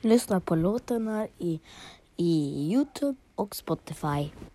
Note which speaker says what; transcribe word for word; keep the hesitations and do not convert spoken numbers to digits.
Speaker 1: lyssna på låtarna i, i YouTube och Spotify.